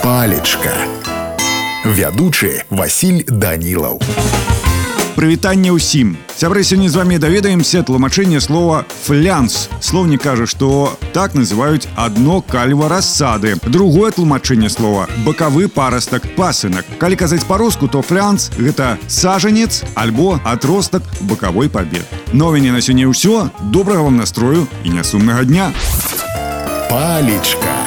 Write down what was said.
Палечка. Вядучы Васіль Данілаў. Прывітанне ўсім. Сябры, сёння з вами даведаемся тлумачэнне слова «флянс». Слоўнік кажа, што так называюць адно кальва рассады. Другое тлумачэнне слова – бакавы парастак, пасынак. Калі казаць па-руску, то флянс – гэта сажанец альбо атростак бакавой пабед. На мяне на сёння ўсё. Добрага вам настрою і нясумнага дня. Палечка.